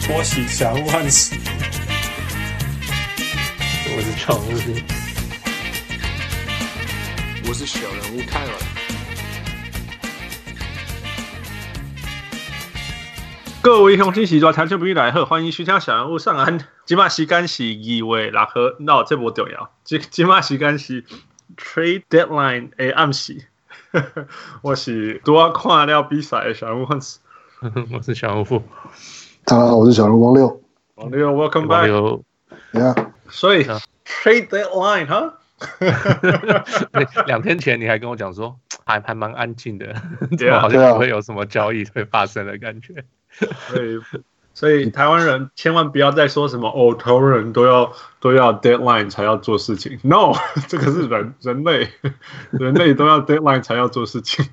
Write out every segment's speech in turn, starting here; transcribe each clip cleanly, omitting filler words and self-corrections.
我喜祥萬喜， 我是常務， 我是小人物泰文。 各位鄉親時代聽眾朋友大家好，歡迎收聽小人物上岸。現在時間是2月6號，那這不重要。現在時間是 Trade Deadline 的暗時。我是拄仔看了比賽的小人物漢斯， 我是小人物。 大家好，我是小人物王六。 王六 ，Welcome back。 Yeah。 所以 Trade Deadline 哈。 2天前你還跟我講說，還蠻安靜的， 對啊， 好像不會有什麼交易會發生的感覺。 所以台灣人千萬不要再說什麼哦，台灣人都要 deadline 才要做事情。No， 這個是人類都要 deadline 才要做事情。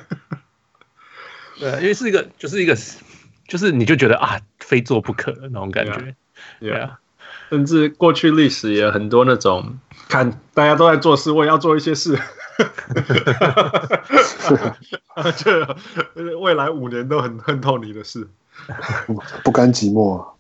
對，因為是一個，就是你就覺得啊，非做不可的那種感覺。 Yeah， 甚至過去歷史也有很多那種，看大家都在做事，我也要做一些事。就未來5年都很恨透你的事。 不甘寂寞啊。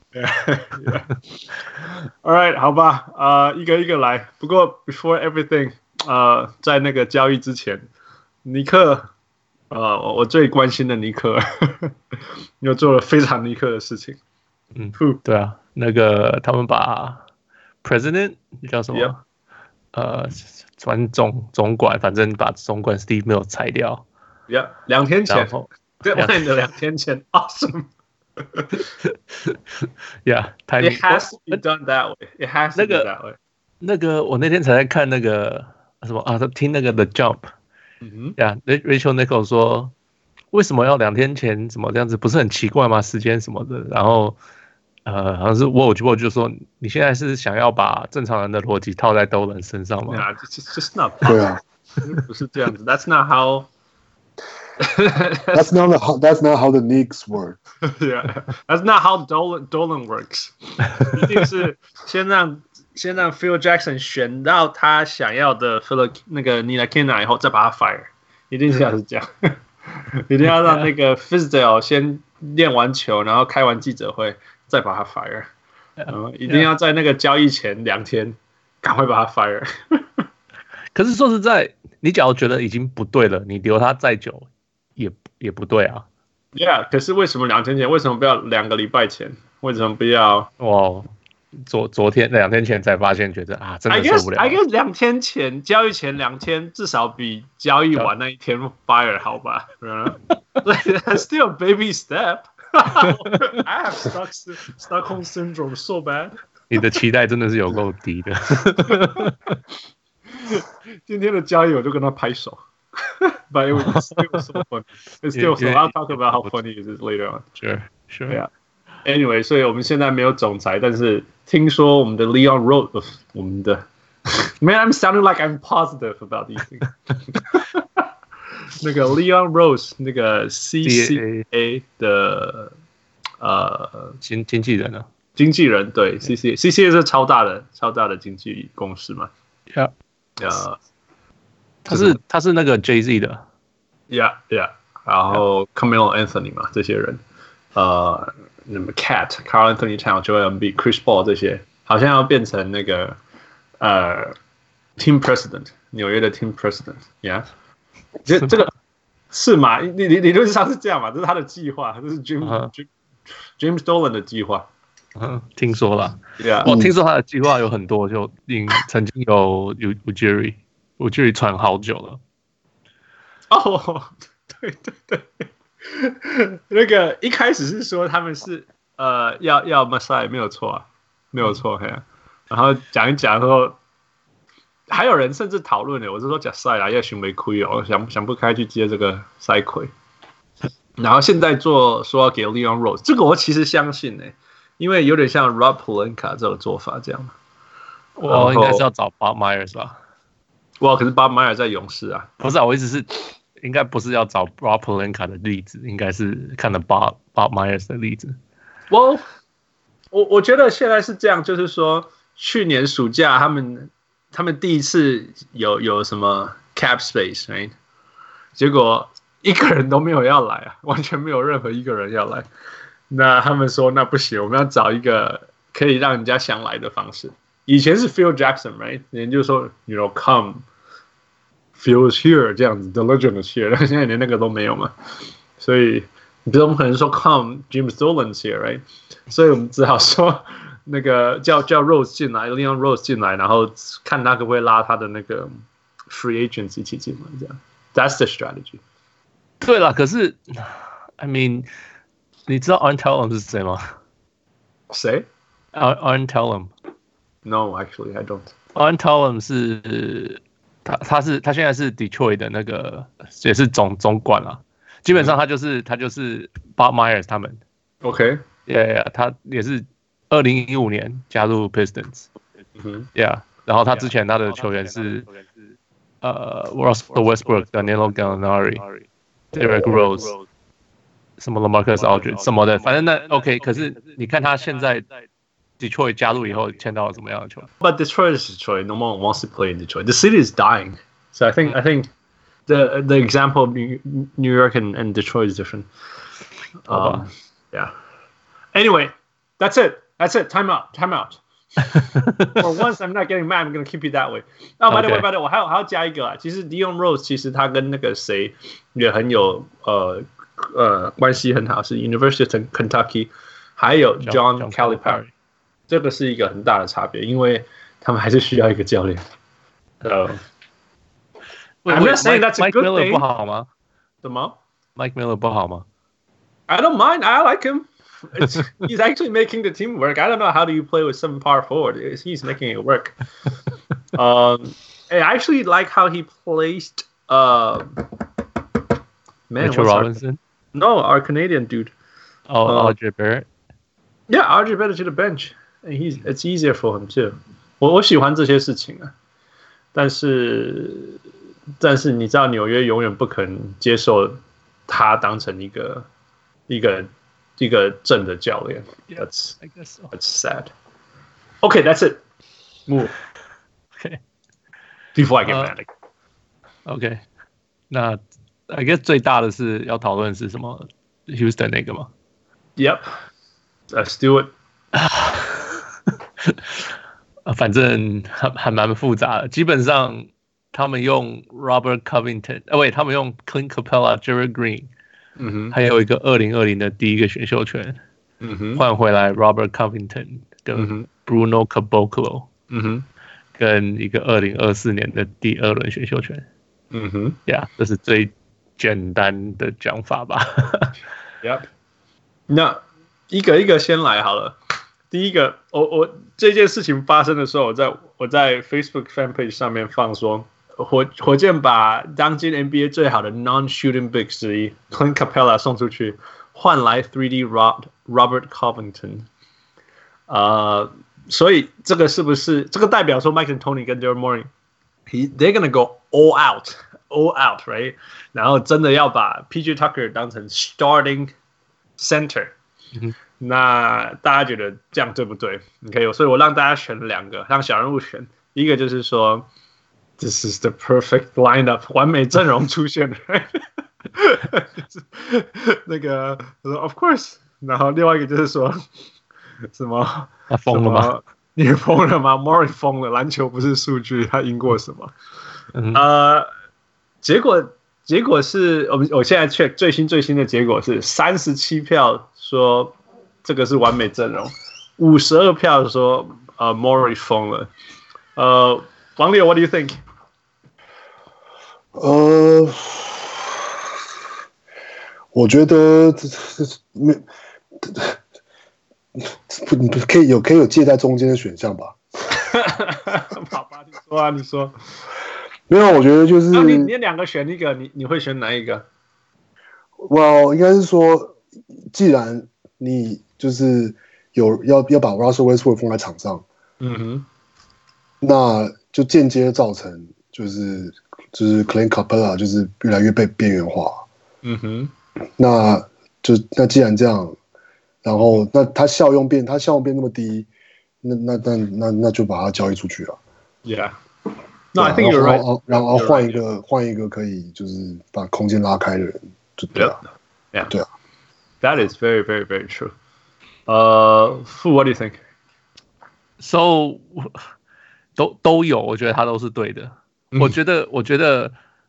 All right， 好吧，一個一個來。不過 before everything， 在那個交易之前，尼克，我最關心的尼克，又做了非常尼克的事情。 對啊，那個他們把 President 叫什麼轉總管，反正把總管 Steve Mills 裁掉。 2天前，Deadline 的2天前 ，Awesome。 Yeah， it has to be done that way. It has to be that way. 那個我那天才在看那個什麼啊，聽那個 The Jump。Rachel Nichols 說，為什麼要2天前什麼這樣子，不是很奇怪嗎？時間什麼的，然後好像是 Woj 就說，你現在是想要把正常人的邏輯套在Dolan身上嗎？ Yeah, just not. 對啊， 不是這樣子。That's not how. That's not how the Knicks work. Yeah, that's not how Dolan works. 一定是先讓 Phil Jackson 選到他想要的 那個 Ntilikina 以後，再把他 fire。一定是這樣，一定要讓那個 Fizdale 先練完球，然後開完記者會，再把他 fire。一定要在那個交易前2天，趕快把他 fire。 可是說實在，你假如覺得已經不對了，你留他再久也不對啊。 Yeah， 可是為什麼2天前？為什麼不要2個禮拜前？為什麼不要？ 昨天2天前才發現，覺得啊，真的受不了。 I guess 2天前交易前2天，至少比交易完那一天 fire 好吧？That's still a baby step. I have Stockholm syndrome so bad. 你的期待真的是有夠低的。 今天的交易我就跟他拍手。But it was so funny. It's still so. I'll talk about how funny it is later on. Sure. Yeah. Anyway， 所以我們現在沒有總裁，但是聽說我們的 Leon Rose， 我們的 Man, I'm sounding like I'm positive about these things. 那個 Leon Rose， 那個 CCA 的經紀人啊， 經紀人對 CCA 是超大的經紀公司嘛。 Yeah. 他是那個 Jay-Z 的 ，Yeah， 然後 Carmelo Anthony 嘛，這些人，那麼 Carl Anthony Towns、Joel Embiid、Chris Paul 這些，好像要變成那個Team President， 紐約的 Team President，Yeah， 這個是嘛？理論上是這樣嘛？這是他的計劃，這是 James Dolan 的計劃。 聽說了， 我聽說他的計劃有很多，就曾經有 Ujiri 傳好久了。 對，那個一開始是說他們是要 Masai 沒有錯啊，沒有錯嘿。然後講一講說，還有人甚至討論呢，我是說假賽啦，要尋沒虧哦，想不開去接這個賽虧。然後現在說要給 Leon Rose， 這個我其實相信呢，因為有點像 Rob Pelinka 這種做法這樣。 我應該是要找 Bob Myers 吧。 哇，可是 Bob Myers 在勇士啊。 不是啊，我意思是，應該不是要找 Rob Pelinka 的例子，應該是看了 Bob Myers 的例子。 我覺得現在是這樣，就是說，去年暑假他們第一次有什麼 cap space， right？ 結果一個人都沒有要來啊，完全沒有任何一個人要來。 那他們說那不行，我們要找一個可以讓人家想來的方式。以前是 Phil Jackson，right？ 人就說 ，you know, come。Phil is here 這樣子 ，The Legend is here， 但現在連那個都沒有嘛，所以你比如我們可能說 Come James Dolan's here，right？ 所以我們只好說那個叫 Rose 進來 ，Leon Rose 進來，然後看他可不可以拉他的那個 free agents 一起進來，這樣 ，That's the strategy。 对了，可是 I mean， 你知道 Aaron Tellem 是誰嗎？ 誰 ？Aaron Tellem。No, actually, I don't. Aaron Tellem 是。他现在是 Detroit 的那个也是总管啊，基本上他就是 Bob Myers 他们 ，OK，yeah， 他也是2015年加入 Pistons，yeah， 然后他之前他的球员是Russell Westbrook、Danilo Gallinari、Derrick Rose， 什麼 LaMarcus Aldridge 什麼的，反正那 OK， 可是你看他現在。Detroit 加入以後簽到了怎麼樣的球員 ？But Detroit is Detroit. No one wants to play in Detroit. The city is dying. So I think the example of New York and Detroit is different. Yeah. Anyway, that's it. Time out. For once, I'm not getting mad. I'm going to keep it that way. by the way, 我還要加一個啊。其實 Leon Rose 其實他跟那個誰也很有關係很好，是 University of Kentucky， 還有 John Calipari。這個是一個很大的差別，因為他們還是需要一個教練。I'm not saying that's a good thing. 不好嗎？ 什麼 ？Mike Miller 不好嗎 ？I don't mind. I like him. He's actually making the team work. I don't know how do you play with 7 power forward. He's making it work. I actually like how he placed Mitchell Robinson. No, our Canadian dude. RJ Barrett. Yeah, RJ Barrett to the bench.It's easier for him too. 我喜歡這些事情啊，但是你知道紐約永遠不可能接受他當成一個正的教練。That's sad. Okay, that's it. Move. Okay. Before I get mad. Okay. 那 I guess 最大的是要討論是什麼 ？Houston 那個嗎 ？Yep. Let's do it. 反正還蠻複雜的，基本上他們用 Robert Covington， 他們用 Clint Capella、Gerald Green， 還有一個2020的第一個選秀權，換回來 Robert Covington 跟 Bruno Caboclo， 跟一個2024年的第2輪選秀權，yeah， 這是最簡單的講法吧。 Yep， 那一個一個先來好了。第一個，我這件事情發生的時候，我在 Facebook fan page 上面放說，火箭把當今 NBA 最好的 non-shooting bigs 之一 Clint Capella 送出去，換來 3D Robert Covington。所以這個是不是這個代表說 Mike D'Antoni 跟 Daryl Morey，they're gonna go all out, right？ 然後真的要把 PJ Tucker 當成 starting center。那大家覺得這樣對不對 ？OK， 所以我讓大家選2個，讓小人物選。一個就是說 ，This is the perfect lineup， 完美陣容出現了。那個 ，Of course。然後另外一個就是說，什麼？ 他瘋了嗎？ 你瘋了嗎 ？Murray 瘋了，籃球不是數據，他贏過什麼？結果是我現在 check 最新的結果是37票說。這個是完美陣容，52票說Murray 瘋了。王烈 ，What do you think？ 我覺得可以有介在中間的選項吧。 好吧，你說。 沒有，我覺得就是你2個選一個，你會選哪一個 ？Well， 應該是說，既然你就是要把 Russell Westbrook 放在場上，那就間接造成就是 Clint Capella 就是越來越被邊緣化，那既然這樣，然後那他效用變那麼低，那就把他交易出去了。 Yeah，No, I think you're right。 然後換一個可以就是把空間拉開的人，就對啊， 對啊。That is very, very, very true. What do you think? So 都有，我觉得他都是对的。我觉得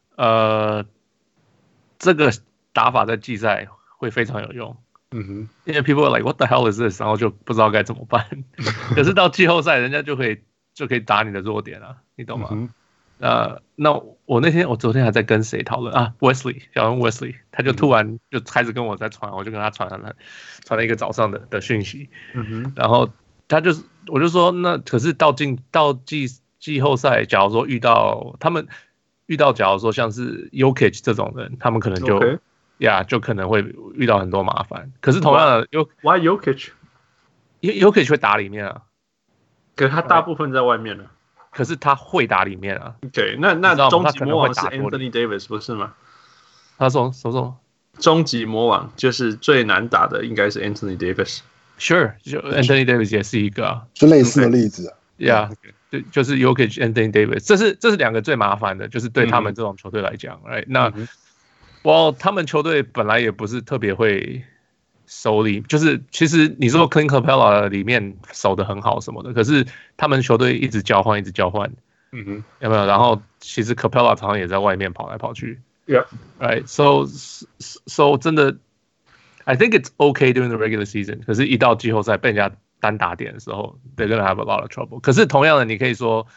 这個打法在季賽會非常有用。因為 people are like what the hell is this， 然後就不知道該怎麼辦。可是到季後賽，人家就可以打你的弱點啊，你懂嗎？那我昨天還在跟誰討論啊 ？Wesley 小人 Wesley， 他就突然就開始跟我在傳，我就跟他傳了一個早上的訊息，然後我就說，那可是到季後賽，假如說遇到假如說像是 Jokic 這種人，他們可能就就可能會遇到很多麻煩。可是同樣的 ，Why Jokic？ Jokic 會打裡面啊， 可是他大部分在外面啊。 可是他會打裡面啊。 Okay， 那終極魔王是 Anthony Davis 不是嗎？ 他說什麼？ 終極魔王就是最難打的，應該是 Anthony Davis。Sure， 就 Anthony Davis 也是一個啊， 就類似的例子啊。 就是 Jokic Anthony Davis， 這是兩個最麻煩的，就是對他們這種球隊來講，right？ 那他們球隊本來也不是特別會守裡，就是其實你說 Clint Capella 裡面守得很好什麼的，可是他們球隊一直交換，有沒有？然後其實 Capella 常常也在外面跑來跑去 ，right？ So 真的 ，I think it's okay during the regular season， 可是一到季後賽被人家單打點的時候 ，they're gonna have a lot of trouble。可是同樣的，你可以說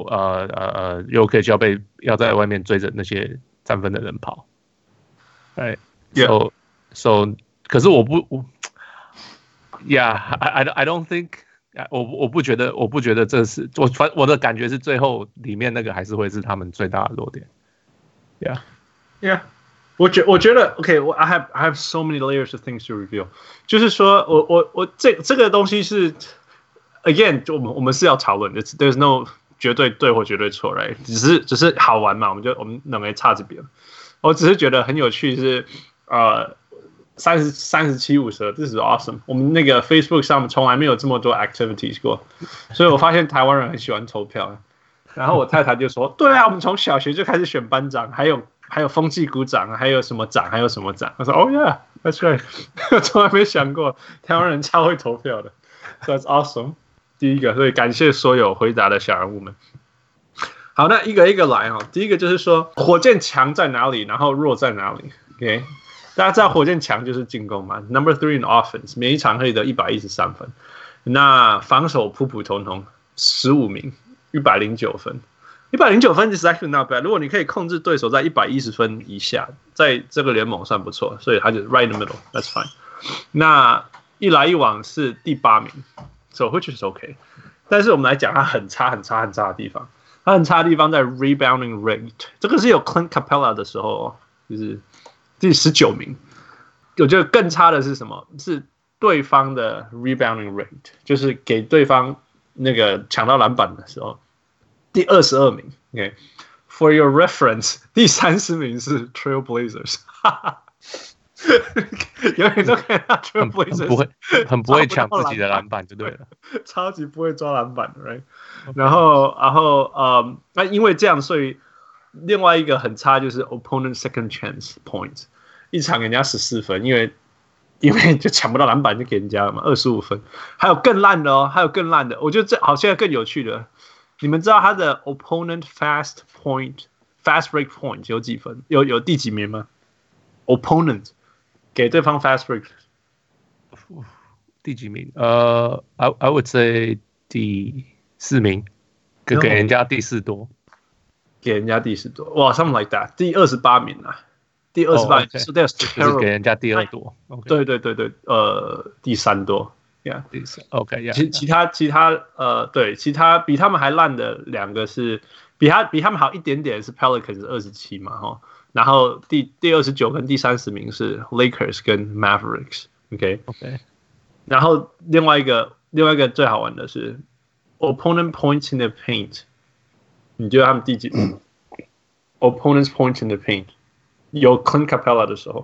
Jokic 要在外面追着那些3分的人跑，哎 ，so 可是我不 ，I don't think， 我不觉得這是我的感覺是最後裡面那個還是會是他們最大的弱點 ，yeah。我覺得 ，I have so many layers of things to reveal。就是說我這個東西是 ，again， 我們是要討論 ，there's no 絕對對或絕對錯 ，right？ 只是好玩嘛，我們兩個差這邊。我只是覺得很有趣是37-52 ，this is awesome。我們那個 Facebook 上從來沒有這麼多 activities 過，所以我發現台灣人很喜歡投票。然後我太太就說：“對啊，我們從小學就開始選班長，還有風紀股長，還有什麼長，還有什麼長。”我說：“Oh yeah, that's right。”從來沒想過台灣人超會投票的 ，so that's awesome。第一個，所以感謝所有回答的小人物們。好，那一個一個來哈。第一個就是說，火箭強在哪裡，然後弱在哪裡 ？OK， 大家知道火箭強就是進攻嘛 ，Number 3 in offense， 每一場可以得113分。那防守普普通通，15名。109分，109分 is actually not bad。如果你可以控制對手在110分以下，在這個聯盟算不錯，所以他就 right in the middle，that's fine。那一來一往是第8名 ，so which is okay。但是我們來講他很差的地方，他很差的地方在 rebounding rate， 這個是有 Clint Capella 的時候，就是第19名。我覺得更差的是什麼？是對方的 rebounding rate， 就是給對方那個搶到籃板的時候，第22名。Okay， For your reference， 第30名是 Trail Blazers， 永遠都看到 Trail Blazers 很不會搶自己的籃板就對了， 超級不會抓籃板的 ，right？ 然後那因為這樣，所以另外一個很差就是 opponent second chance points， 一場給人家14分，因為就搶不到籃板就給人家了嘛，25分。還有更爛的哦，我覺得這好，現在更有趣的，你們知道他的 opponent fast break point 有幾分？有第幾名嗎 ？opponent 給對方 fast break 第幾名？I would say 第4名，給人家第4多， 給人家第4多，哇 ，something like that， 第28名啊。第28名，是就是給人家第2多。 對，第3多 ，Yeah， 第3 ，OK， 其他比他們還爛的兩個是比他們好一點點是 Pelicans 27嘛，哈，然後第29跟第30名是 Lakers 跟 Mavericks，OK， 然後另外一個最好玩的是 opponent points in the paint， 你覺得他們第幾名？Opponents points in the paint。有 Clint Capella 的時候，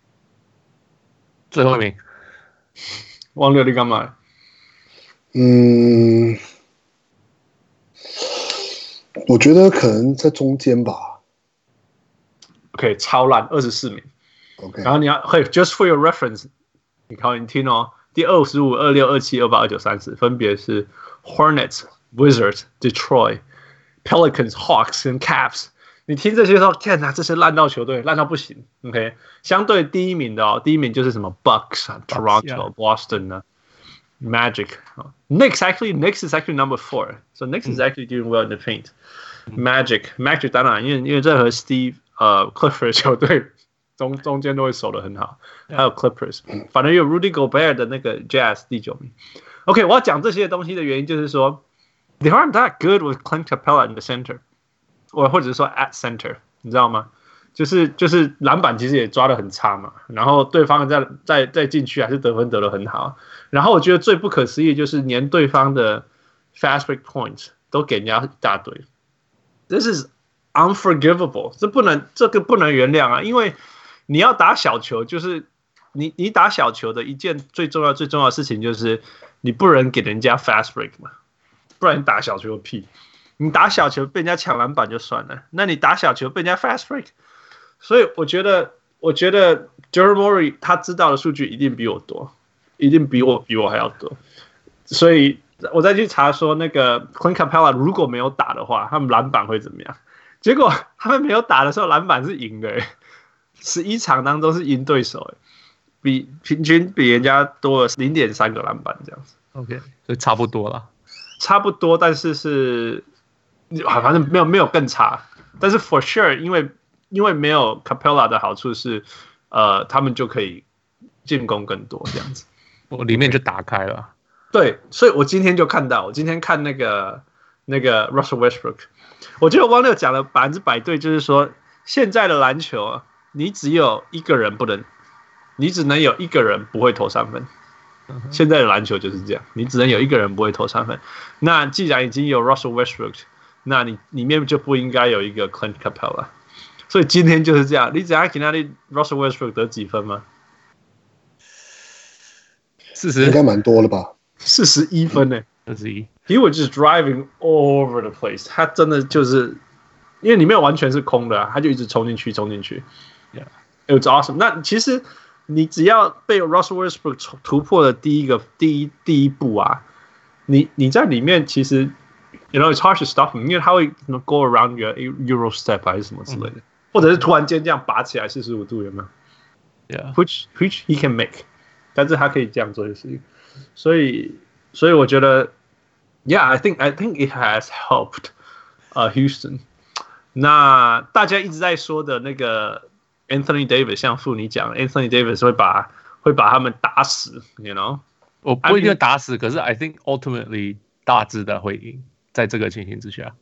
最後一名， 忘了你幹嘛？ 我覺得可能在中間吧。 OK， 超爛，24名。 OK， 然後你要，Just for your reference， 你聽哦， 第25、26、27、28、29、30，分別是 Hornets、Wizards、Detroit、Pelicans、Hawks 跟 Cavs。你聽這些時候，天哪，這些爛到球隊，爛到不行。OK， 相對第一名的第一名就是什麼 Bucks 啊、Toronto、Boston 啊、Magic。Knicks is actually number 4， so Knicks is actually doing well in the paint。Magic 當然，因為任何 Steve Clifford 球隊中間都會守得很好，還有 Clippers， 反正有 Rudy Gobert 的那個 Jazz 第9名。OK， 我要講這些東西的原因就是說 ，they aren't that good with Clint Capella in the center。或者是說 at center， 你知道嗎？就是籃板其實也抓得很差嘛，然後對方再進去還是得分得得很好。然後我覺得最不可思議就是連對方的 fast break points 都給人家一大堆 ，This is unforgivable， 這個不能原諒啊！因為你要打小球，就是你打小球的一件最重要的事情就是你不能給人家 fast break 嘛，不然你打小球有屁。你打小球被人家搶籃板就算了，那你打小球被人家 fast break， 所以我覺得 Daryl Morey 他知道的數據一定比我多，一定比我還要多，所以我再去查說那個 Clint Capella 如果沒有打的話，他們籃板會怎麼樣？結果他們沒有打的時候籃板是贏的，11場當中是贏對手，平均比人家多了 0.3 個籃板這樣子。 OK， 所以差不多啦， 差不多，但是。反正沒有更差，但是 for sure 因為沒有 Capella 的好處是，他們就可以進攻更多這樣子， 我裡面就打開了。 對，所以我今天就看到，我今天看那個 Russell Westbrook， 我覺得汪六講了100%對，就是說現在的籃球，你只有一個人你只能有一個人不會投3分。現在的籃球就是這樣，你只能有一個人不會投3分。那既然已經有 Russell Westbrook，那你裡面就不應該有一個 Clint Capella， 所以今天就是這樣。你只要給那裡 Russell Westbrook 得幾分嗎 ？40 應該蠻多了吧 ？41分呢 ？41。 He was just driving all over the place， 他真的就是因為裡面完全是空的，他就一直衝進去。Yeah, it was awesome。那其實你只要被 Russell Westbrook 突破的第一步啊，你在裡面其實。You know, it's hard to stop him， 因為他會 go around your Euro step 還是什麼之類的，或者是突然間這樣拔起來45度，有沒有 ？Yeah， which he can make， 但是他可以這樣做的事情，所以我覺得 ，Yeah，I think it has helped Houston。那大家一直在說的那個 Anthony Davis， 像傅你講 ，Anthony Davis 會把他們打死 ，you know， 我不一定打死，可是 I think ultimately 大致的會贏。在這個情形之下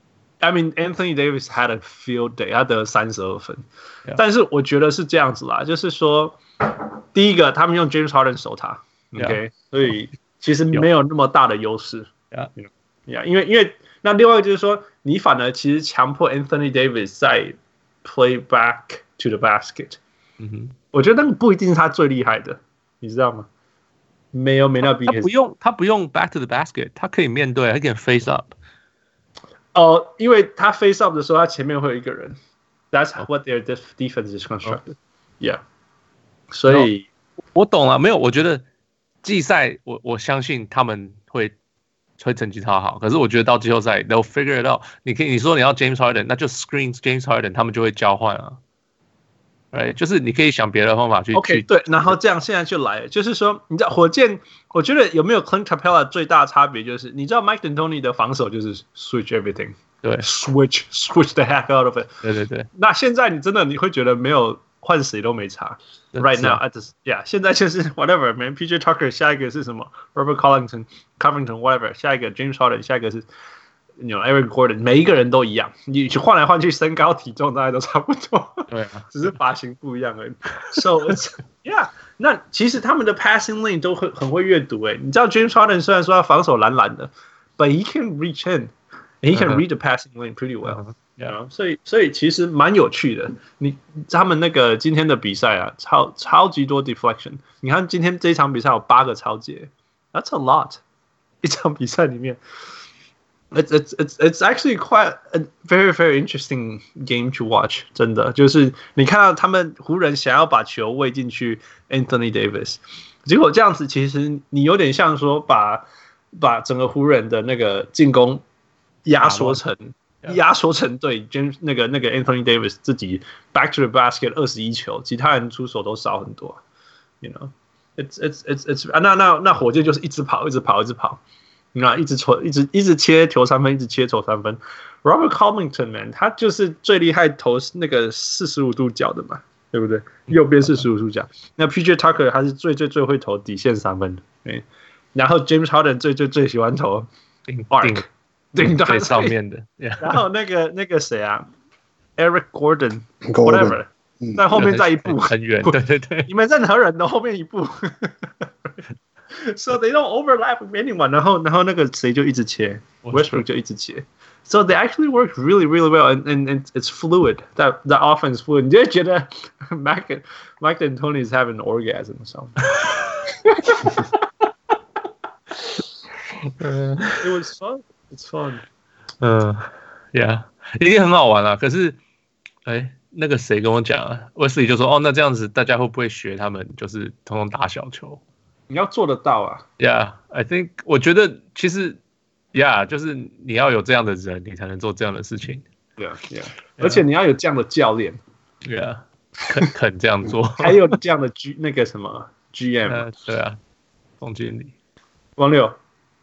，I mean Anthony Davis had a field day， 他得了32分， yeah. 但是我覺得是這樣子啦，就是說，第一個他們用 James Harden 守他 ，OK， 所以其實沒有那麼大的優勢 ，Yeah， 因為那另外一個就是說，你反而其實強迫 Anthony Davis 在 play back to the basket， 我覺得那個不一定是他最厲害的，你知道嗎？沒那必要。 他不用 back to the basket， 他可以面對，他可以 face up。 因為他 face up 的時候，他前面會有一個人。That's what their defense is constructed。Yeah。所以我懂了，沒有，我覺得季賽我相信他們會成績超好，可是我覺得到季後賽 they'll figure it out。你說你要 James Harden， 那就 screen James Harden， 他們就會交換啊。Right， 就是你可以想別的方法去。 OK， 對，然後這樣現在就來了，就是說，你知道火箭，我覺得有沒有 Clint Capella 最大的差別就是，你知道 Mike D'Antoni 的防守就是 switch everything， 對 ，switch the heck out of it。对。那現在你會覺得沒有換誰都沒差 ，right now， yeah， 現在就是 whatever man， PJ Tucker 下一個是什麼 ，Robert Covington whatever， 下一個 James Harden， 下一個是。Eric Gordon， 每一個人都一樣，你換來換去，身高體重大概都差不多，對，只是髮型不一樣而已。So yeah， 那其實他們的 passing lane 都很會閱讀你知道 James Harden 雖然說他防守懶的 ，but he can reach in， and he can read the passing lane pretty well。所以其實蠻有趣的。他們那個今天的比賽啊，超級多 deflection。你看今天這一場比賽有8個抄截 ，That's a lot。一場比賽裡面。It's actually quite a very very interesting game to watch。真的，就是你看到他們湖人想要把球餵進去 Anthony Davis， 結果這樣子，其實你有點像說把整個湖人的那個進攻壓縮成對 James 那個 Anthony Davis 自己 back to the basket 21球，其他人出手都少很多。You know, it's 那火箭就是一直跑，那一直切投三分，一直切投三分。Robert Covington man， 他就是最厲害投那個45度角的嘛，對不對？右邊45度角。那 PJ Tucker 他是最會投底線三分的，對。然後 James Harden 最喜歡投 arc 頂最上面的。 然後那個誰啊 ，Eric Gordon whatever， 在後面再一步很遠，對， 你們任何人的後面一步。So they don't overlap with anyone， 然後那個誰就一直切 ，Westbrook 就一直切。So they actually work really, really well, and it's fluid. That offense fluid. 你就覺得 Mike D'Antoni is having an orgasm or something. It was fun. It's fun. Yeah， 一定很好玩啊。可是，那個誰跟我講啊，Wesley就說，那這樣子大家會不會學他們，就是通通打小球？ 你要做得到啊。 Yeah, I think 我覺得其實。Yeah， 就是你要有這樣的人，你才能做這樣的事情。 Yeah， 而且你要有這樣的教練。 Yeah， 肯這樣做。 還有這樣的那個什麼 GM。 對啊，總經理。 王六。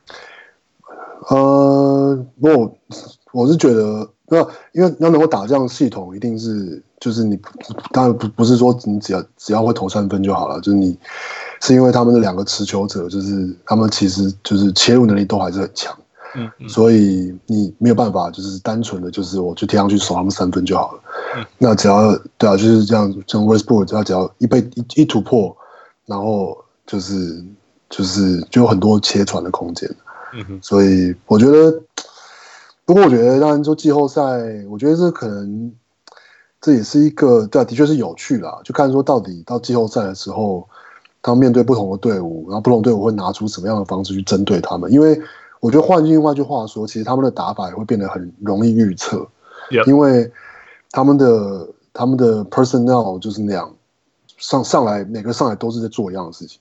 我是覺得，因為要能夠打這樣的系統，一定是就是你當然不是說你只要會投三分就好了，就是你是因為他們的兩個持球者，就是他們其實就是切入能力都還是很強。所以你沒有辦法，就是單純的就是我就貼上去守他們三分就好了。那只要對啊，就是這樣，像 Westbrook 他只要一突破，然後就有很多切傳的空間。所以我覺得，不過我觉得當然說季後賽，我覺得這可能這也是一個對啊，的確是有趣啦，就看說到底到季後賽的時候，他們面對不同的隊伍，然後不同隊伍會拿出什麼樣的方式去針對他們，因為。我覺得換另外一句話說，其實他們的打法也會變得很容易預測，因為他們的 personnel 就是那樣，上來每個上來都是在做一樣的事情，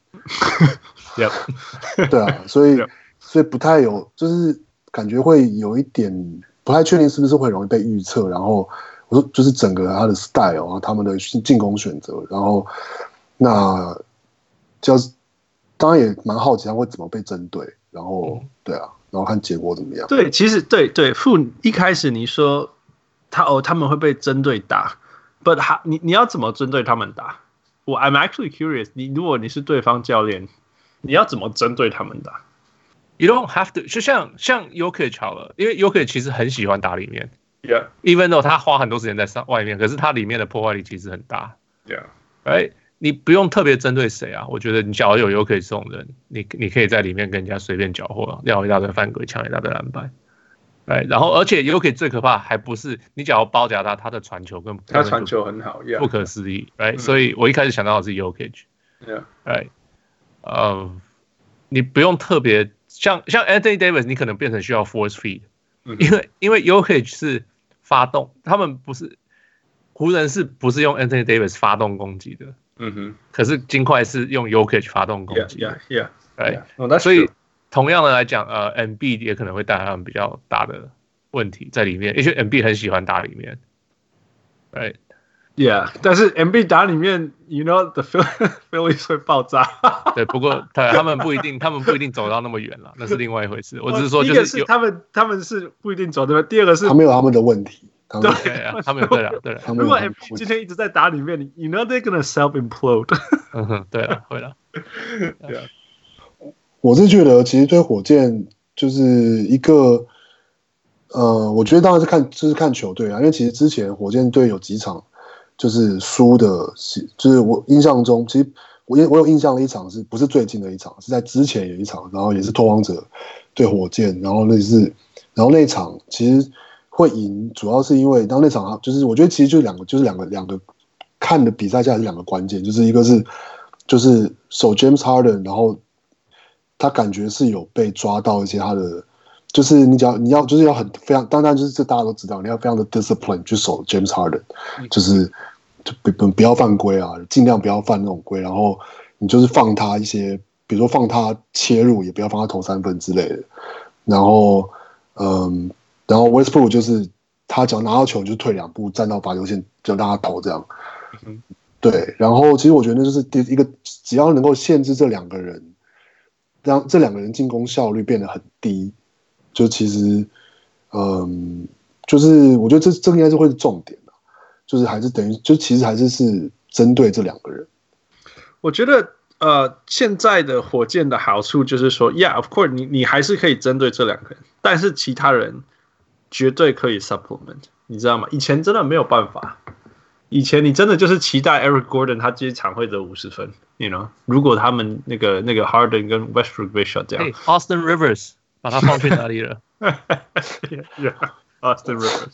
對啊，所以不太有，就是感覺會有一點不太確定是不是會容易被預測，然後我說就是整個他的 style， 然後他們的進攻選擇，然後那就是當然也蠻好奇他會怎麼被針對。然後對啊，然後看結果怎麼樣。 對，其實對，傅一開始你說他們會被針對打 ，but 你要怎麼針對他們打？I'm actually curious。如果你是對方教練，你要怎麼針對他們打 ？You don't have to。就像 Jokic 好了，因為 Jokic 其實很喜歡打裡面 ，even though 他花很多時間在外面，可是他裡面的破壞力其實很大。Right。你不用特別針對誰啊，我覺得你假如有 Jokic 這種人，你可以在裡面跟人家隨便攪和，撂一大堆犯規，搶一大堆籃板，然後而且 Jokic 最可怕還不是你假如包夾他的傳球跟他傳球很好， 不可思議，所以我一開始想到的是 Jokic，你不用特別像 Anthony Davis， 你可能變成需要 force feed，因為 Jokic 是發動，他們不是湖人是不是用 Anthony Davis 發動攻擊的？可是金塊是用 Jokic 發動攻擊，所以同樣的來講，Embiid 也可能會帶來他們比較大的問題在裡面，因為 Embiid 很喜歡打裡面但是 Embiid 打裡面 ，you know the Phillies 會爆炸。 对，不過他們不一定走到那麼遠了，那是另外一回事。我只是說，就是他們是不一定走對吧？第二個是他們有他們的問題。 對啊，他們有对了。 如果 MB 今天一直在打裡面 ，you know they're gonna self implode。 对了，会了。 对啊， 我是覺得其實對火箭就是一個，我覺得當然是看球隊啊，因為其實之前火箭隊有幾場就是輸的，就是我印象中，其實我有印象的一場是不是最近的一場，是在之前有一場，然後也是拓荒者對火箭，然後那一場其實。會贏，主要是因為當那場就是我覺得其實就是兩個看的比賽下來是兩個關鍵，就是一個是就是守 James Harden， 然後他感覺是有被抓到一些他的，就是你要就是要很非常，當然就是這大家都知道，你要非常的 discipline 去守 James Harden， 就是不要犯規啊，盡量不要犯那種規，然後你就是放他一些，比如說放他切入，也不要放他投3分之類的。然後 Westbrook 就是他只要拿到球就退2步，站到罚球線就讓他投這樣。對，然後其實我覺得那就是一個，只要能夠限制這2個人，讓這2個人進攻效率變得很低，就其實就是我覺得這應該是會是重點的，就是還是等於就其實還是針對這2個人。 我覺得現在的火箭的好處就是說 ，Yeah, of course， 你還是可以針對這2個人，但是其他人絕對可以 supplement， 你知道嗎？以前真的沒有辦法，以前你真的就是期待 Eric Gordon 他這一場會得50分 ，you know， 如果他們那個 Harden 跟 Westbrook 被 shut down。Austin Rivers 把他放去哪裡了 ？Yeah, Austin Rivers。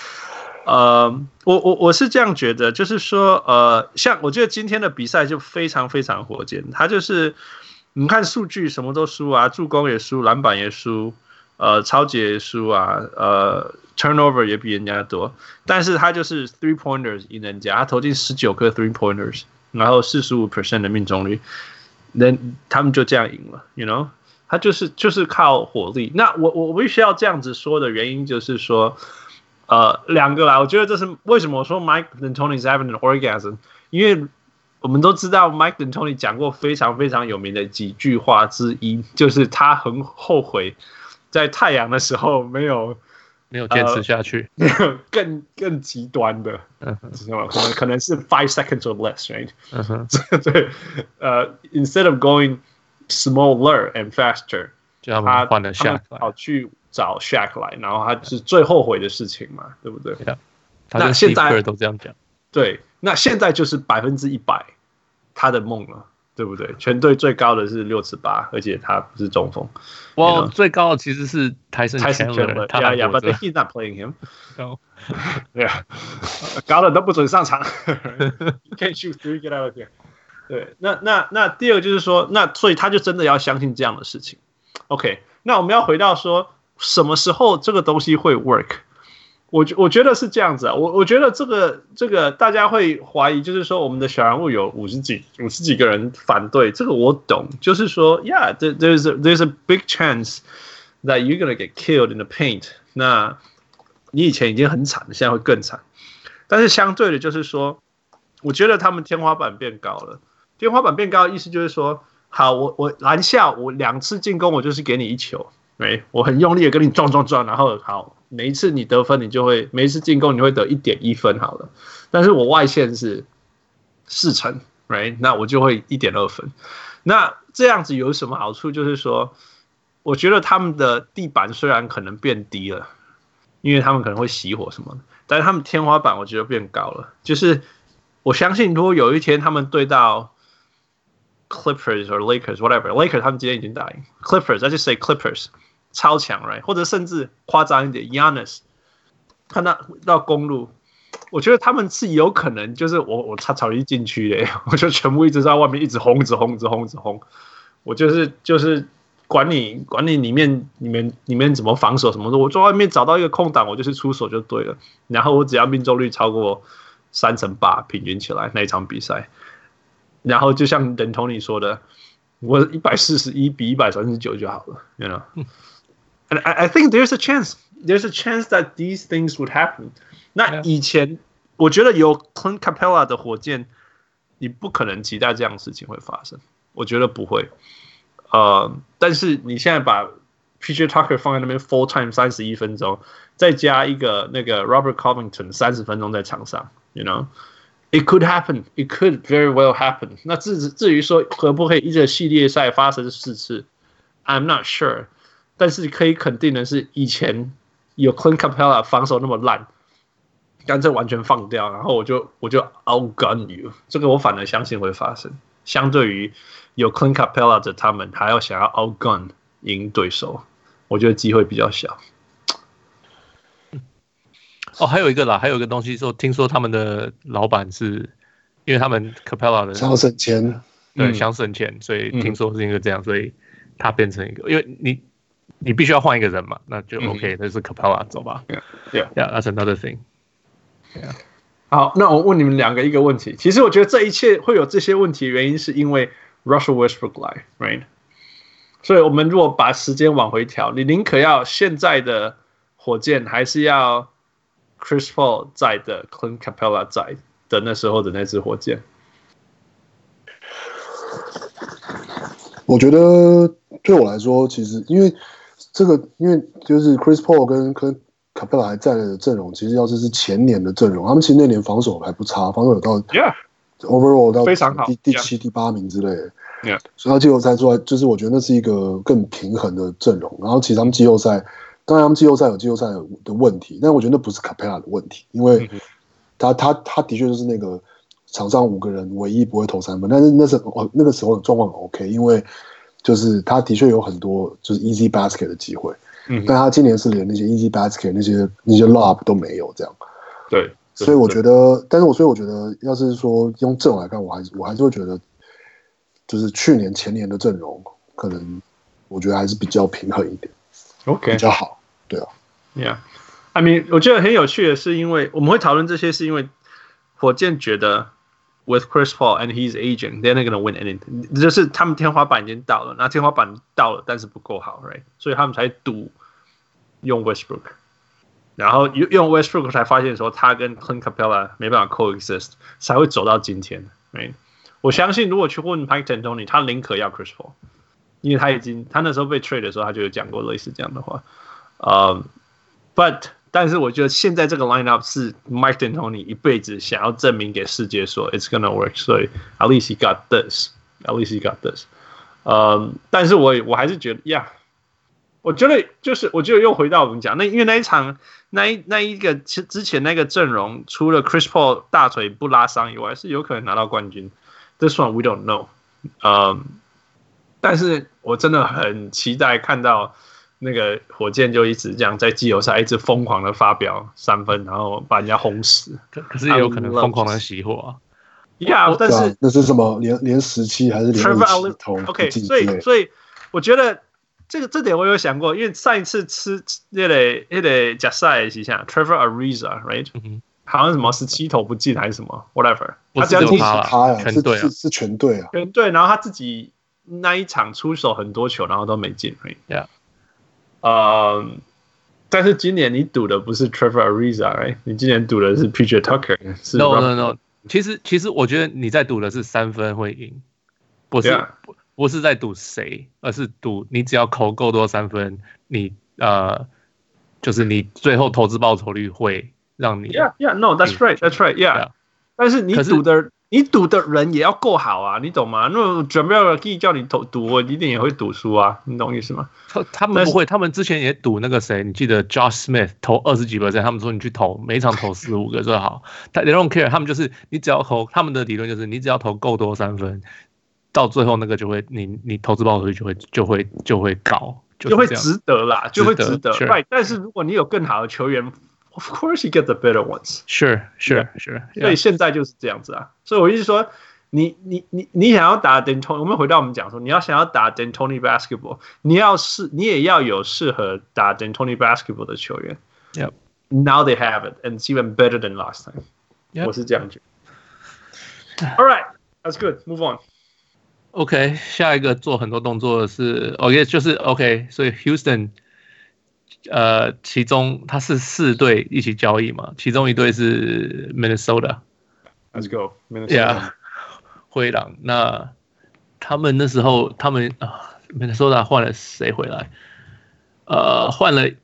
我是這樣覺得，就是說，像我覺得今天的比賽就非常非常火箭，他就是你看數據什麼都輸啊，助攻也輸，籃板也輸，抄截也輸啊，turnover 也比人家多，但是他就是 3 pointers 贏人家，他投進19顆 3 pointers， 然後45% 的命中率，他們就這樣贏了 ，you know， 他就是靠火力。那我必須要這樣子說的原因就是說。2個啦，我覺得這是為什麼我說 Mike D'Antoni is having an orgasm， 因為我們都知道 Mike D'Antoni 講過非常非常有名的幾句話之一，就是他很後悔在太陽的時候沒有堅持下去， 沒有更極端的，可能是5 seconds or less，right？ 对，instead of going smaller and faster， 他换了下跑去找 Shaq 來，然後他是最後悔的事情嘛，对不对？ 那現在都這樣講， 對，那現在就是100%他的夢了，對不对？全隊最高的是6尺8，而且他不是中鋒。 哇，最高的其實是Tyson Chandler， 他還活着。But he's not playing him. No. 對啊，高的都不准上场。Can't shoot three, get out of here. 對，那第二個就是說，所以他就真的要相信這樣的事情。OK， 那我們要回到說。什麼時候這個東西會 work？ 我覺得是這樣子啊，我覺得這個大家會懷疑，就是說我們的小人物有50幾個人反對，這個我懂，就是說 ，Yeah, there's a big chance that you're gonna get killed in the paint。那你以前已經很慘了，現在會更慘。但是相對的，就是說，我覺得他們天花板變高了。天花板變高的意思就是說，好，我籃下我2次進攻，我就是給你1球。我很用力的跟你撞，然後好，每一次你得分，每一次進攻你會得1.1分好了，但是我外線是4成 ，right？ 那我就會1.2分。那這樣子有什麼好處？就是說，我覺得他們的地板雖然可能變低了，因為他們可能會熄火什麼的，但是他們天花板我覺得變高了。就是我相信，如果有一天他們對到Clippers or Lakers whatever Lakers 他們今天已經打贏 Clippers， I just say Clippers 超強 right， 或者甚至誇張一點 Giannis 看到公路，我覺得他們是有可能就是我草地禁區的，我就全部一直在外面一直轟，我就是管你裡面怎麼防守什麼的，我在外面找到一個空檔，我就是出手就對了，然後我只要命中率超過8%平均起來那一場比賽。然後就像D'Antoni說的，我141比139就好了 ，you know. And I think there's a chance that these things would happen. 那以前我覺得有 Clint Capella 的火箭，你不可能期待這樣的事情會發生，我覺得不會。但是你現在把 PJ Tucker 放在那邊 full time 31分鐘，再加一個那個 Robert Covington 30分鐘在場上 ，you know.It could happen. It could very well happen. 那至於說可不可以一個系列賽發生4次 ，I'm not sure. 但是可以肯定的是，以前有 Clint Capella 防守那麼爛，乾脆完全放掉，然後我就 outgun you。這個我反而相信會發生。相對於有 Clint Capella 的他們，還要想要 outgun 贏對手，我覺得機會比較小。 哦，還有一個東西說，聽說他們的老闆是因為他們 Capella 的想省錢， 对，想省錢，所以聽說是因為這樣，所以他變成一個，因為你必須要換一個人嘛，那就 OK， 那是 Capella 走吧 ，Yeah, that's another thing. Yeah. 好，那我問你們2個一個問題。其實我覺得這一切會有這些問題的原因，是因為 Russell Westbrook 來 ，right？ 所以我們如果把時間往回調，你寧可要現在的火箭，還是要 Chris Paul 在的 Clint Capella 在的那時候的那支火箭？ 我覺得對我來說，其實因為就是 Chris Paul 跟 Clint Capella 還在的陣容，其實要是前年的陣容，他們其實那年防守還不差，防守有到 overall 到非常好第7、第8名之類的。 Yeah. 所以他季後賽出來，就是我覺得那是一個更平衡的陣容。然後其實他們季後賽，當然他們季後賽有季後賽的問題，但我覺得那不是 Capella 的問題，因為他的確就是那個場上5個人唯一不會投3分，但是那個時候的狀況很 OK， 因為就是他的確有很多就是 easy basket 的機會，但他今年是連那些 easy basket 那些 lob 都沒有這樣。 對， 所以我覺得，所以我觉得，要是說用陣容來看，我還是會覺得。就是去年前年的陣容，可能我覺得還是比較平衡一點 ，OK， 比較好，對啊 ，Yeah，I mean， 我觉得很有趣的是，因為我們會討論這些，是因為火箭覺得 with Chris Paul and his agent, they're not gonna win anything， 就是他們天花板已經到了，那天花板到了，但是不夠好 ，right？ 所以他們才賭用 Westbrook， 然後用 Westbrook 才發現說他跟 Clint Capella 沒辦法 coexist， 才會走到今天 ，right？我相信，如果去問 Mike D'Antoni， 他寧可要 Chris Paul， 因為他那時候被 trade 的時候，他就有講過類似這樣的話。但是我覺得現在這個 lineup 是 Mike D'Antoni 一輩子想要證明給世界說 it's gonna work， 所以 at least he got this。但是我還是覺得 ，yeah， 我覺得又回到我們講，因為那一場那一個之前那個陣容，除了 Chris Paul 大腿不拉傷以外，是有可能拿到冠軍。This one we don't know， 但是我真的很期待看到那個火箭就一直這樣在季後賽一直瘋狂的發表3分，然後把人家轟死。 可是也有可能瘋狂的熄火啊。 Yeah， 但是那是什麼？連17還是連57投 ？OK， 所以我覺得這點我有想過，因為上一次吃那個假賽的時候 ，Trevor Ariza，right？好像什麼17投不進還是什麼 ，whatever。 他只有他呀， 全队啊，是全队啊， 全队。然後他自己那一場出手很多球，然後都沒進。 Yeah。 但是今年你賭的不是 Trevor Ariza， 你今年賭的是 PJ Tucker。 No。其實我覺得你在賭的是3分會贏，不是在賭誰，而是賭你只要投夠多3分，你就是你最後投資報酬率會。讓你 Yeah, that's right. 但是你賭的人也要夠好啊，你懂嗎？那準備叫你賭，我一定也會賭輸啊，你懂意思嗎？ 他們不會，他們之前也賭那個誰，你記得 Josh Smith 投20幾%，他們說你去投，每一場投4-5個最好。They don't care， 他們就是你只要投，他們的理論就是你只要投夠多3分，到最後那個就會你投資報酬率就會高， 就會值得啦，就會值得。Right， 但是如果你有更好的球員。Of course, you get the better ones. Sure. 所以現在就是這樣子啊。所以我意思說，你想要打 D'Antoni， 我們回到我們講說，你要想要打 D'Antoni basketball， 你也要有適合打 D'Antoni basketball 的球員。 Yep. Now they have it, and it's even better than last time. Yep. 我是這樣覺得。All right, that's good. Move on. OK， 下一個做很多動作的是 OK， 就是 OK， 所以 Houston。其中他是4隊一起交易嘛，其中一隊是 Minnesota。Let's go Minnesota。 灰狼，那他們那時候Minnesota 換了誰回來？換了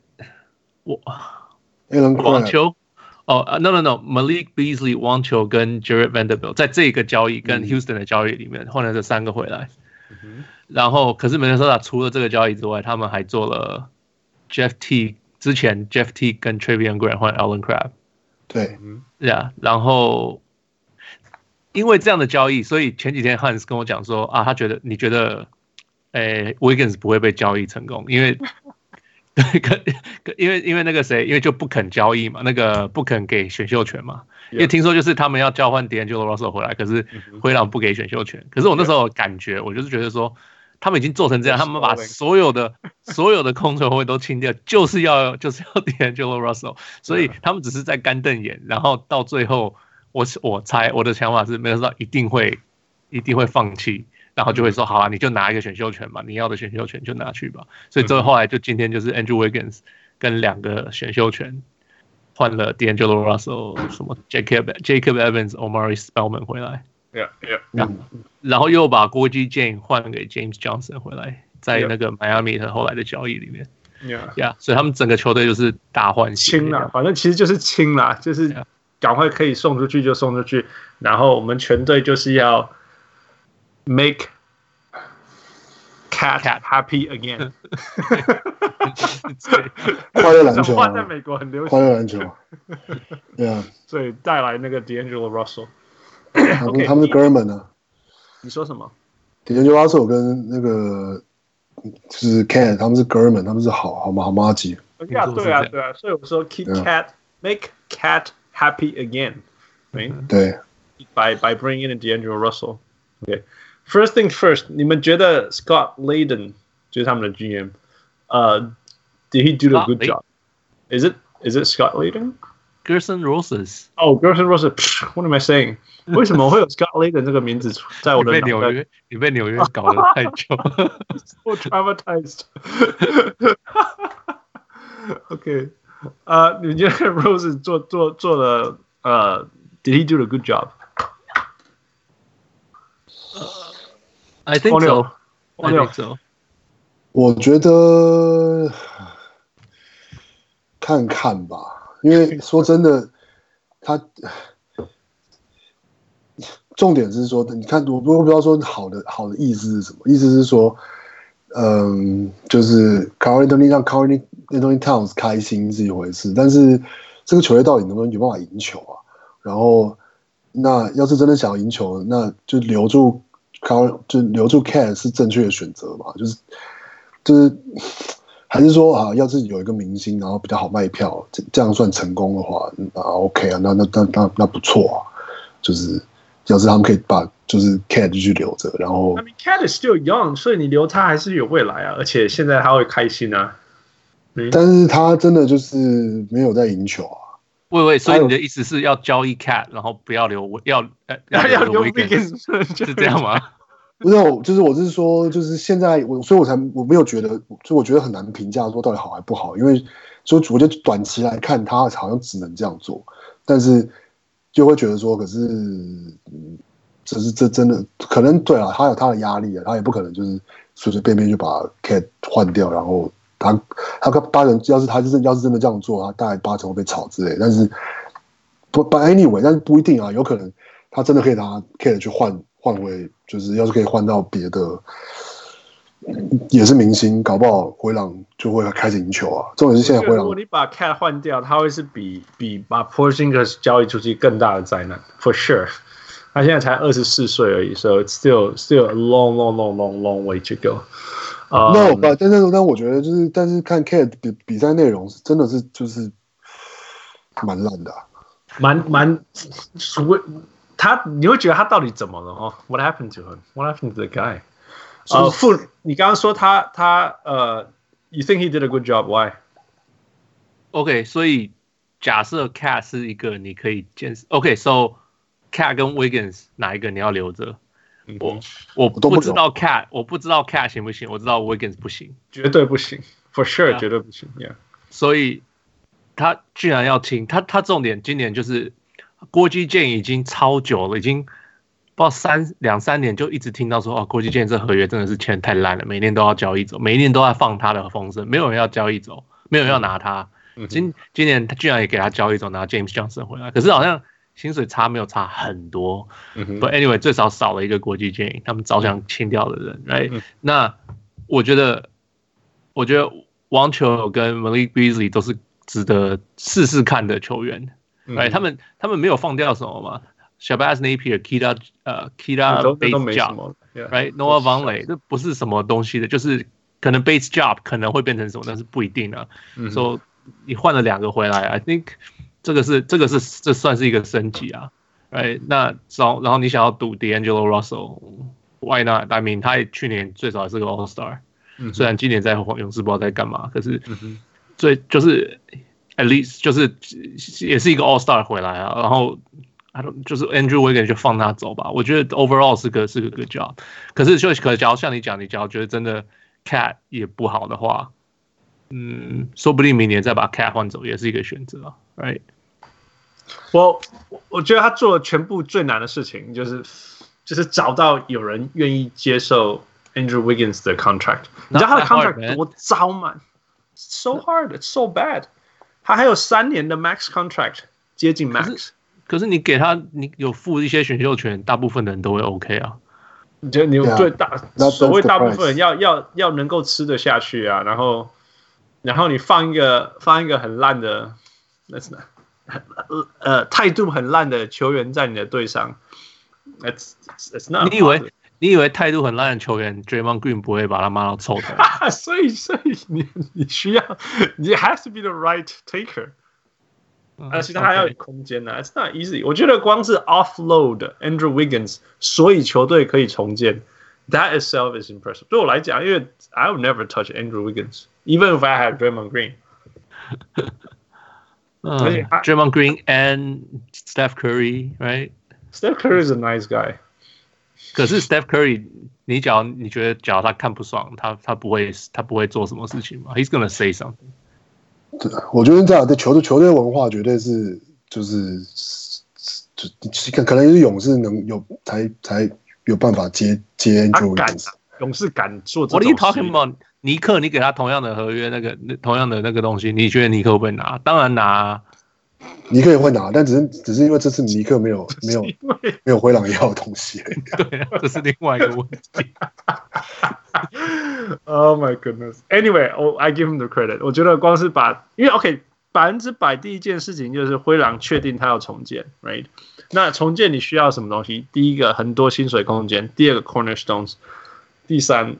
網球。No，Malik Beasley 網球跟 Jared Vanderbilt 在這個交易跟 Houston 的交易裡面換了這3個回來。然後可是 Minnesota 除了這個交易之外，他們還做了。Jeff T 之前 Jeff T 跟 Travion Grant 換 Allen Crabbe， 對然後因為這樣的交易，所以前幾天 Hans 跟我講說啊，你覺得Wiggins 不會被交易成功，因為那個誰，因為就不肯交易嘛，那個不肯給選秀權嘛，因為聽說就是他們要交換 D'Angelo Russell 回來，可是灰狼不給選秀權，可是我那時候感覺，我就是覺得說。他們已經做成這樣，他們把所有的控球後衛都清掉，就是要D'Angelo Russell， 所以他們只是在乾瞪眼，然後到最後，我猜我的想法是，Minnesota一定會放棄， 然後就會說好啊，你就拿一個選秀權嘛，你要的選秀權就拿去吧。所以最後來就今天就是 Andrew Wiggins 跟2個選秀權換了 D'Angelo Russell 什麼 Jacob Evans、Omari Spellman 回來。然後又把郭基建換給 James Johnson 回來，在那個邁阿密的後來的交易裡面。所以他們整個球隊就是大換血。清啦， 反正其實就是清啦，就是趕快可以送出去就送出去，然後我們全隊就是要 make cat happy again 。 快樂籃球， 在美國很流行。 快樂籃球，对啊， 所以帶來那個 D'Angelo Russell。 他們是哥們啊。 你說什麼 ？D'Angelo Russell 跟那個就是 Cat， 他們是哥們，他们是好麻吉。 对啊，所以我說 keep cat make cat happy again， 对。 by bringing in D'Angelo Russell。Okay, first thing first， 你們覺得 Scott Layden 就是他們的 GM，did he do a good job？ Is it Scott Layden？Gerson Rosas。 Oh, Gerson Rosas。What am I saying？ 為什麼會有 Scott Layden 這個名字在我的腦袋？ 你被紐約搞得太久。 So traumatized。OK， 你們覺得 Rosas 做了did he do a good job？I think so. I think so. 我覺得看看吧，因為說真的，他重點是說，你看，我不知道說好的意思是什麼？意思是說，就是 Karl Anthony 讓 Karl Anthony Towns 開心是一回事，但是這個球隊到底能不能有辦法贏球啊？然後，那要是真的想要贏球，那就留住 Cat 是正確的選擇嘛？就是還是說啊，要是有一個明星，然後比較好賣票，這樣算成功的話，那 OK 啊，那不錯啊，就是要是他們可以把就是 Cat 繼續留着，然後 I mean Cat is still young， 所以你留他還是有未來啊，而且現在他會開心啊。 但是他真的就是沒有在贏球啊。 喂，所以你的意思是要交易 Cat， 然後不要留要留 Wiggins， 是這樣嗎？ 不是，就是我是說，就是現在所以我沒有覺得，就我覺得很難評價說到底好還不好，因為所以我覺得短期來看，他好像只能這樣做，但是就會覺得說，可是這真的可能對啊，他有他的壓力啊，他也不可能就是隨隨便便就把 Cat 換掉，然後他八成要是真的這樣做，他大概8成會被炒之類，但是anyway， 但是不一定啊，有可能他真的可以拿 Cat 去換回，就是要是可以換到別的，也是明星，搞不好灰狼就會開始贏球啊。重點是現在灰狼， 如果你把 Cat 換掉，他會是比把 Porzingis 交易出去更大的災難 ，for sure。他現在才24歲而已 ，so it's still a long way to go。但我覺得就是，但是看 Cat 比賽內容真的是就是蠻爛的、啊， 你會覺得他到底怎麼了哦 ？What happened to him? What happened to the guy? 你剛剛說他you think he did a good job? Why? OK， 所以假設 Cat 是一個你可以堅持 OK，so Cat 跟 Wiggins 哪一個你要留着？我不知道 Cat， 我不知道 Cat 行不行，我知道 Wiggins 不行， 絕對不行 ，for sure， 絕對不行。Yeah， 所以他居然要聽他重點今年就是郭基建已經超久了，已經不知道2、3年就一直聽到說哦，郭基建這合約真的是簽太爛了，每年都要交易走，每一年都在放他的風聲，沒有人要交易走，沒有人要拿他。今年他居然也給他交易走，拿 James Johnson 回來，可是好像薪水差沒有差很多。But anyway， 最少少了一個國際建議，他們早想清掉的人，right？那我覺得王球跟 Malik Beasley 都是值得試試看的球員，right？他們沒有放掉什麼嘛 ？Shabazz Napier、Keita Base Job，right？Noah Vonleh 這不是什麼東西的，就是可能 Base Job 可能會變成什麼，但是不一定啊。So 你換了2個回來 ，I think 這算是一個升級啊。right？ 那然後你想要賭 D'Angelo Russell，why not？I mean， 他去年最少也是個 All Star，雖然今年在勇士不知道在幹嘛，可是就是 at least 就是也是一個 All Star 回來啊。然後就是 Andrew Wiggins 就放他走吧。我覺得 overall 是個 good job。可是假如像你講，你假如覺得真的 Cat 也不好的話，說不定明年再把 Cat 換走也是一個選擇啊 ，right？ 我覺得他做了全部最難的事情，就是找到有人願意接受 Andrew Wiggins 的 contract。你知道他的 contract 多糟嗎 ？So hard, it's so bad。他還有3年的 max contract， 接近 max。 可是你給他，你有付一些選秀權，大部分的人都會 OK 啊。 你覺得你最所謂大部分人要能夠吃得下去啊，然後你放一個很爛的，態度很爛的球員在你的隊上 ，it's not。你以為態度很爛的球員 Draymond Green 不會把他罵到臭頭？所以你需要，你 has to be the right taker。而且他還要有空間呢 ，It's not easy。我覺得光是 offload Andrew Wiggins， 所以球隊可以重建 ，that itself is impressive。对我來講，因為 I would never touch Andrew Wiggins，even if I had Draymond Green。 Draymond Green and Steph Curry，right？Steph Curry is a nice guy。 可是 Steph Curry， 你覺得假如他看不爽，他不會做什麼事情嗎 ？He's gonna say something。 对，我覺得這樣的球隊文化絕對是就可能是勇士能有才有辦法接 Andrew Wiggins。 勇士敢做這種事。 What are you talking about？ 尼克，你給他同樣的合約，同樣的那個東西，你覺得尼克會不會拿？當然拿啊。 尼克也會拿，但只是因為這次尼克沒有灰狼要的東西。 對啊，這是另外一個問題。 Oh my goodness. Anyway, I give him the credit. 我覺得光是因為 OK100%第一件事情就是灰狼確定他要重建 ，right？ 那重建你需要什麼東西？第一個很多薪水空間，第二個 cornerstones， 第三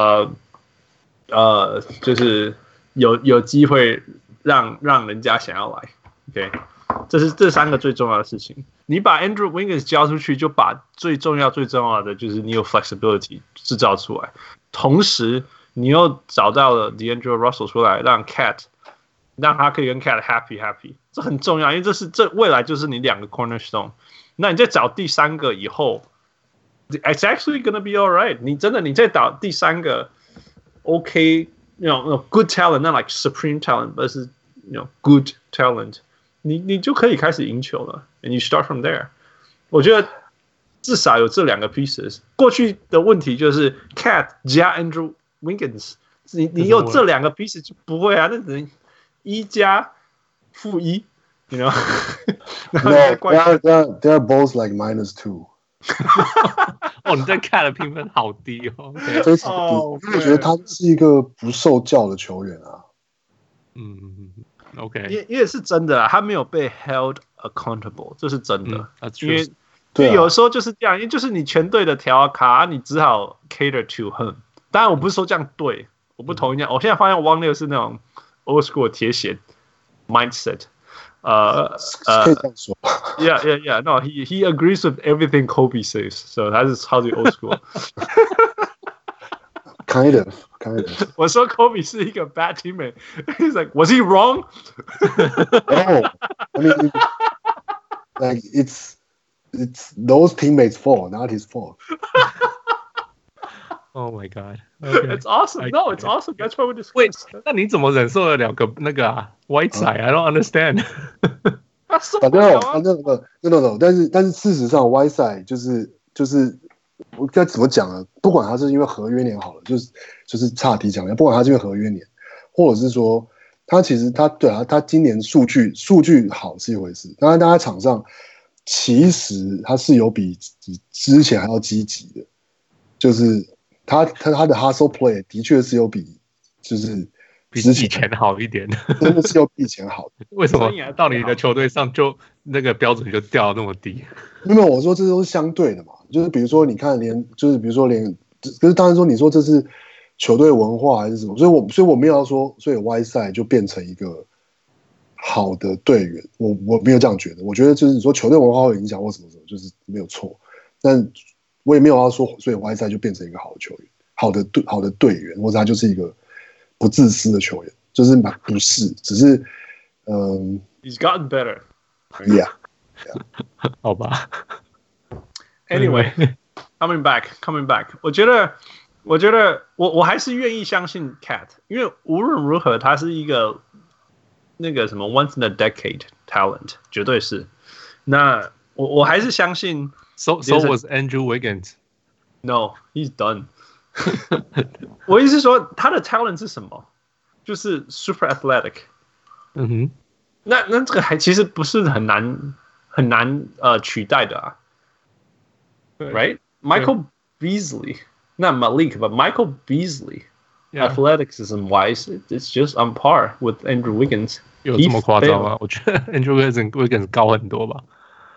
就是有機會讓人家想要來。OK， 這3個最重要的事情。你把 Andrew Wiggins 交出去，就把最重要的就是你有 flexibility 製造出來，同時你又找到了 D'Angelo Russell 出來，讓 Cat 讓他可以跟 Cat happy， 這很重要，因為這未來就是你2個 cornerstone。那你再找第3個以後 ，it's actually gonna be alright。你再找第3個 OK，you know good talent，not like supreme talent，but 是 you know good talent。你就可以開始贏球了 ，and you start from there。我覺得至少有這2個 pieces。過去的問題就是 Cat 加 Andrew Wiggins， 你有這2個 pieces 就不會啊，那只能1+-1 ，you know？ No, they're both like -2。 哦，你在 Cat 的評分好低哦， 非常低，因為我覺得他是一個不受教的球員啊。 OK， 因為是真的，他沒有被 held accountable， 這是真的。因為有時候就是這樣，因為就是你全隊的條卡，你只好 cater to him。當然，我不是說這樣對，我不同意這樣。我現在發現汪六是那種 old school 鐵血 mindset。 可以這樣說。 Yeah. No, he agrees with everything Kobe says. So 他是超級 old school。 Kind of. 我說 Kobe 是一個 bad teammate. He's like, was he wrong? No, I mean, like it's those teammates' fault, not his fault. Oh my god! Okay. It's awesome. No, it's awesome. That's why we discuss. Wait, 那你怎麼忍受了2個那個啊 Whiteside? I don't understand. 他受不了啊。 No. 但是事實上 Whiteside 就是我該怎麼講呢？不管他是因為合約年好了，就是岔題講，不管他是因為合約年，或者是說他其實他今年數據好是一回事，當然他在場上其實他是有比之前還要積極的，就是他的 hustle play 的確是有比之前好一點， 真的是有比以前好的。 為什麼到你的球隊上就那個標準就掉那麼低？ 因為我說這都是相對的嘛，就是比如說你看可是當然說你說這是球隊文化還是什麼，所以我沒有要說，所以 Whiteside 就變成一個好的隊員，我沒有這樣覺得。我覺得就是你說球隊文化會影響或什麼，就是沒有錯。但我也沒有要說，所以 Whiteside 就變成一個好的球員，好的隊員，或者他就是一個不自私的球員，就是不是，只是 He's gotten better. Yeah. 好吧。 Anyway, coming back. 我覺得我還是願意相信 Cat， 因為無論如何他是一個那個什麼 once in a decade talent， 絕對是。那我還是相信。 So was Andrew Wiggins. No, he's done. 我意思是說他的 talent 是什麼？就是 super athletic。 嗯哼。 那這個還其實不是很難取代的啊。Right? Michael Beasley, not Malik, but Michael Beasley, athleticism wise, it's just on par with Andrew Wiggins. 有這麼誇張嗎？我覺得 Andrew Wiggins 高很多吧。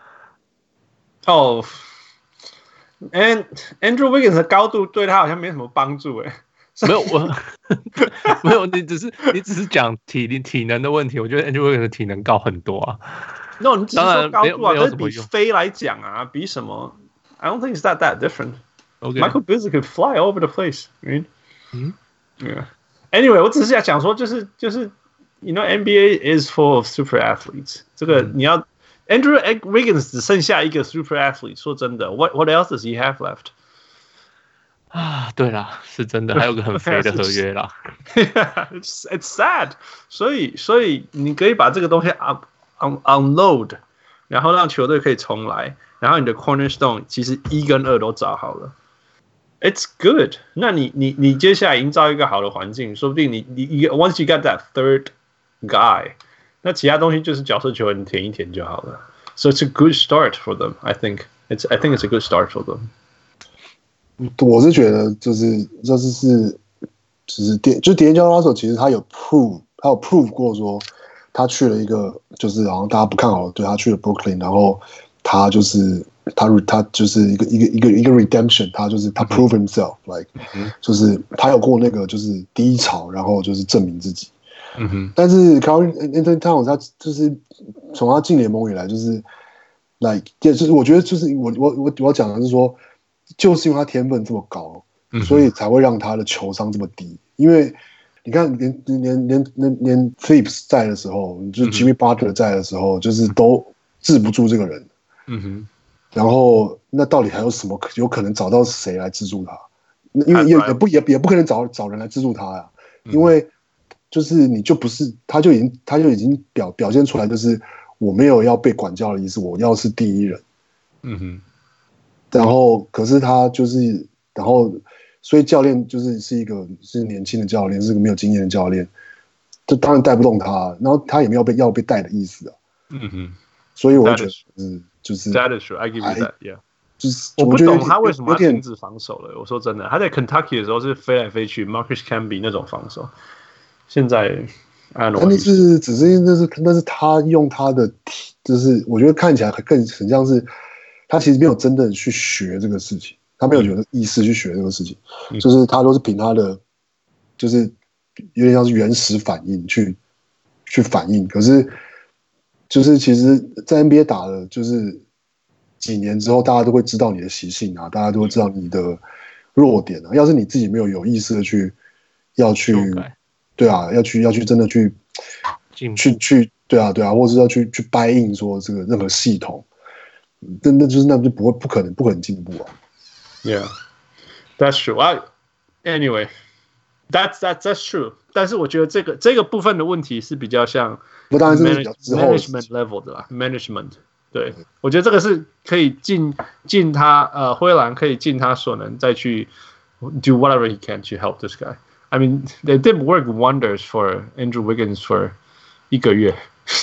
哦 ，and Andrew Wiggins 的高度對他好像沒什麼幫助誒。 沒有沒有，你只是講體能的問題。我覺得 Andrew Wiggins 的體能高很多啊。 No， 你只是說高度啊，但是比飛來講啊，比什麼？ I don't think it's that different. Okay. Michael Beasley could fly all over the place. Right? Yeah. Anyway, 我只是想講說，就是，you know, NBA is full of super athletes. 這個你要 Andrew Wiggins 只剩下一個 super athlete。說真的 ，what else does he have left? 啊，對啦，是真的，還有個很肥的合約啦。 It's sad. 所以你可以把這個東西 unload， 然後讓球隊可以重來。然後你的 cornerstone 其實1跟2都找好了 ，It's good。那你接下來營造一個好的環境，說不定你 once you got that third guy， 那其他東西就是角色球員填一填就好了。So it's a good start for them. I think it's a good start for them。 我是覺得就是DeAngelo Russell 其實他有 prove 過說他去了一個就是好像大家不看好的，對，他去了 Brooklyn， 然後。他就是一個 redemption， 他就是他 prove himself， like， 就是他有过那個就是低潮，然後就是證明自己。但是 Karl Anthony Towns 他就是從他進聯盟以來，就是 like， 就是我覺得就是我要講的是說，就是因為他天分這麼高，所以才會讓他的球商這麼低。因為你看連 Phillips 在的時候，就是 Jimmy Butler 在的時候，就是都治不住這個人。然後那到底還有什麼有可能找到誰來資助他？因為也不可能找人來資助他呀，因為就是你就不是他就已經表現出來，就是我沒有要被管教的意思，我要是第一人。然後可是他就是然後所以教練是一個是年輕的教練，是個沒有經驗的教練，這當然帶不動他，然後他也沒有要被帶的意思啊。所以我覺得就是 That is true. I give you that. Yeah. 就是我不懂他為什麼要停止防守了。我說真的，他在 Kentucky 的時候是飛來飛去 ，Marcus Camby 那種防守。現在 I don't know. 只是那是他用他的，就是我覺得看起來很像是他其實沒有真的去學這個事情，他沒有有意識去學這個事情，就是他都是憑他的，就是有點像是原始反應去反應，可是。就是其實，在 NBA 打了就是幾年之後，大家都會知道你的習性啊，大家都會知道你的弱點啊。要是你自己沒有意識的要去，對啊，要去真的去對啊，或者是要去buy in說這個任何系統，那就不可能進步啊。 Yeah, that's true. Anyway, that's true. 但是我覺得這個部分的問題是比較像。 不，當然是比較之後 management level 的啦 ，management 對，我覺得這個是可以盡他灰狼可以盡他所能再去 do whatever he can to help this guy. I mean, they did work wonders for Andrew Wiggins for 1個月，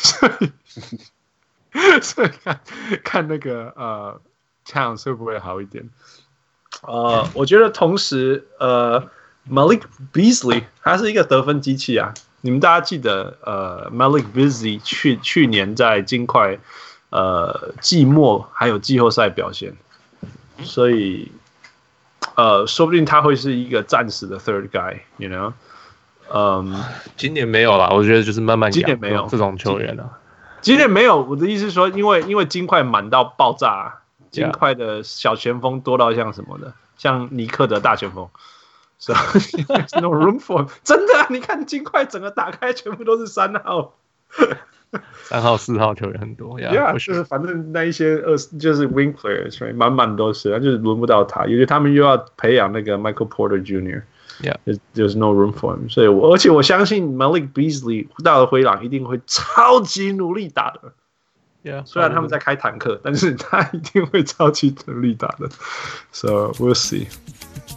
所以看那個Towns 會不會好一點？我覺得同時Malik Beasley 他是一個得分機器啊。你們大家記得Malik Beasley 去年在金塊季末還有季後賽表現，所以說不定他會是一個暫時的 third guy，you know？ 今年沒有啦，我覺得就是慢慢養。 今年沒有這種球員啊。 今年沒有，我的意思是說，因為金塊滿到爆炸，金塊的小前鋒多到像什麼的，像尼克的大前鋒。So there's no room for him. 真的啊，你看金塊整個打開全部都是3號。 3號、4號球員很多 ，Yeah， 就是反正那一些就是 wing players， 满满都是，他就是輪不到他，因為他們又要培養那個 Michael Porter Jr.，There's no room for him， 所以而且我相信 Malik Beasley 到了灰狼一定會超級努力打的。雖然他們在開坦克，但是他一定會超級努力打的。So we'll see.